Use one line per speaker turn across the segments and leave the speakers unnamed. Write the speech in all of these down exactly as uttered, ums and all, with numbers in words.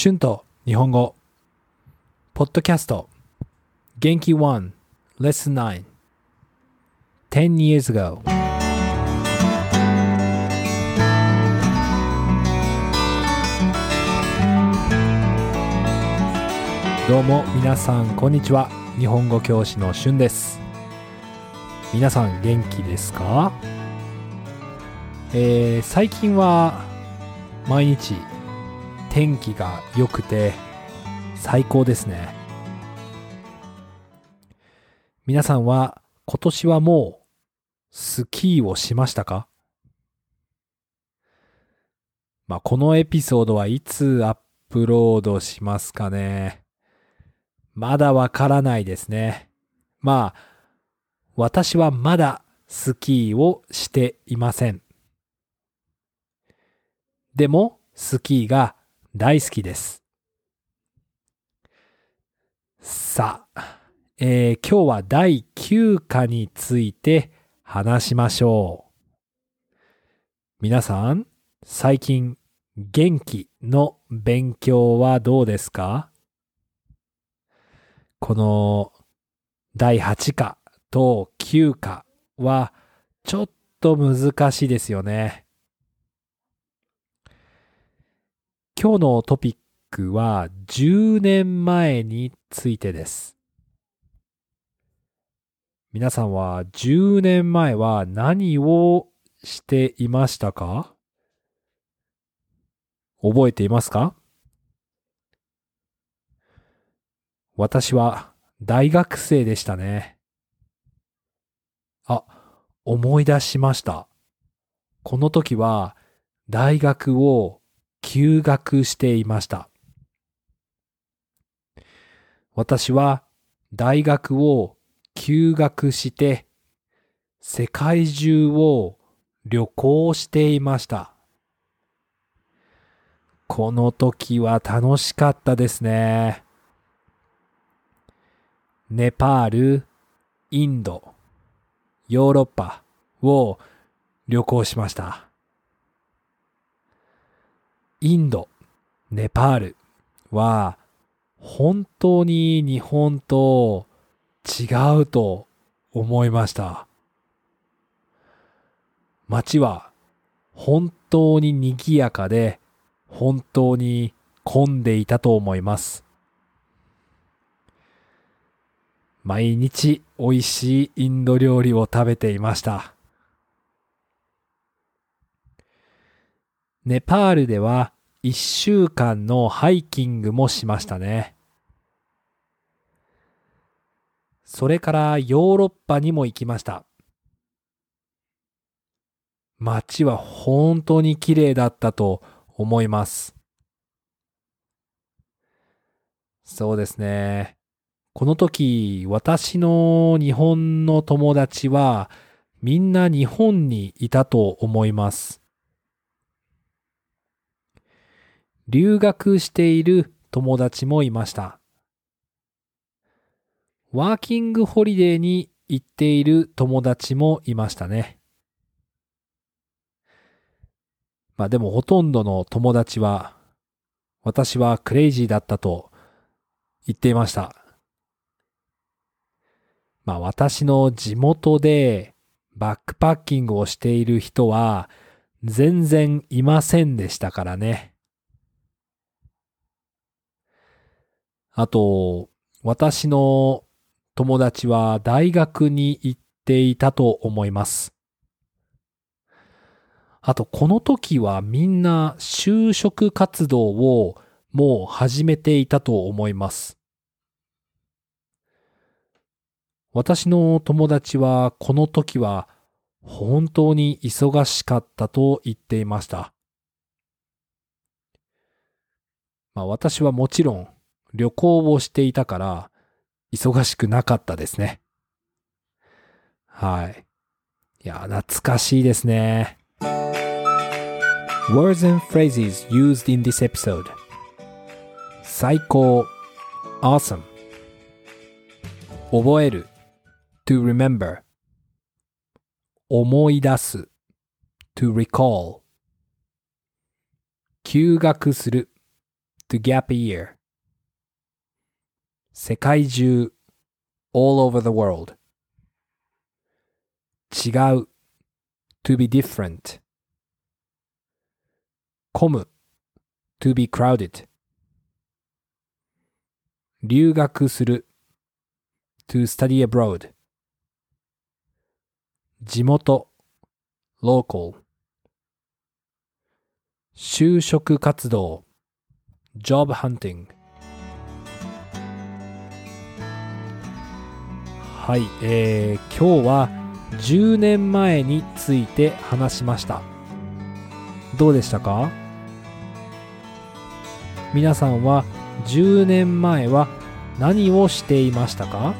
春と日本語ポッドキャスト元気いち Lesson ナイン ten years ago どうも皆さんこんにちは。日本語教師の春です。皆さん元気ですか？えー、最近は毎日天気が良くて最高ですね。皆さんは今年はもうスキーをしましたか？まあ、このエピソードはいつアップロードしますかね。まだわからないですね。まあ、私はまだスキーをしていません。でも、スキーが大好きです。さあ、えー、今日はだいきゅう課について話しましょう。皆さん、最近元気の勉強はどうですか？このだいはち課ときゅう課はちょっと難しいですよね。今日のトピックはじゅうねんまえについてです。皆さんはじゅうねんまえは何をしていましたか？覚えていますか？私は大学生でしたね。あ、思い出しました。この時は大学を休学していました。私は大学を休学して世界中を旅行していました。この時は楽しかったですね。ネパール、インド、ヨーロッパを旅行しました。インド、ネパールは本当に日本と違うと思いました。街は本当に賑やかで本当に混んでいたと思います。毎日美味しいインド料理を食べていました。ネパールではいっしゅうかんのハイキングもしましたね。それからヨーロッパにも行きました。街は本当に綺麗だったと思います。そうですね。この時、私の日本の友達はみんな日本にいたと思います。留学している友達もいました。ワーキングホリデーに行っている友達もいましたね。まあでもほとんどの友達は私はクレイジーだったと言っていました。まあ私の地元でバックパッキングをしている人は全然いませんでしたからね。あと私の友達は大学に行っていたと思います。あとこの時はみんな就職活動をもう始めていたと思います。私の友達はこの時は本当に忙しかったと言っていました。まあ私はもちろん旅行をしていたから忙しくなかったですね。はい。いや、懐かしいですね。Words and phrases used in this episode. 最高 Awesome 覚える To remember 思い出す To recall 休学する to gap year 世界中 all over the world 違う to be different 混む to be crowded 留学する to study abroad 地元 local 就職活動 job hunting はい、えー、今日はじゅうねんまえについて話しました。どうでしたか？皆さんはじゅうねんまえは何をしていましたか？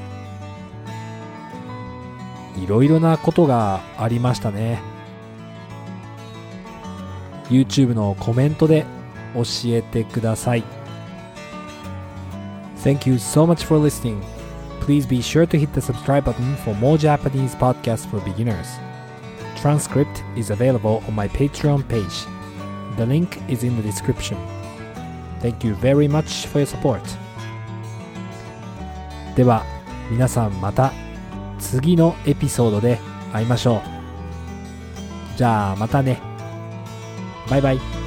いろいろなことがありましたね。YouTube のコメントで教えてください。Thank you so much for listening. Please be sure to hit the subscribe button for more Japanese podcasts for beginners. Transcript is available on my Patreon page. The link is in the description. Thank you very much for your support. では皆さんまた次のエピソードで会いましょう。じゃあまたね。バイバイ。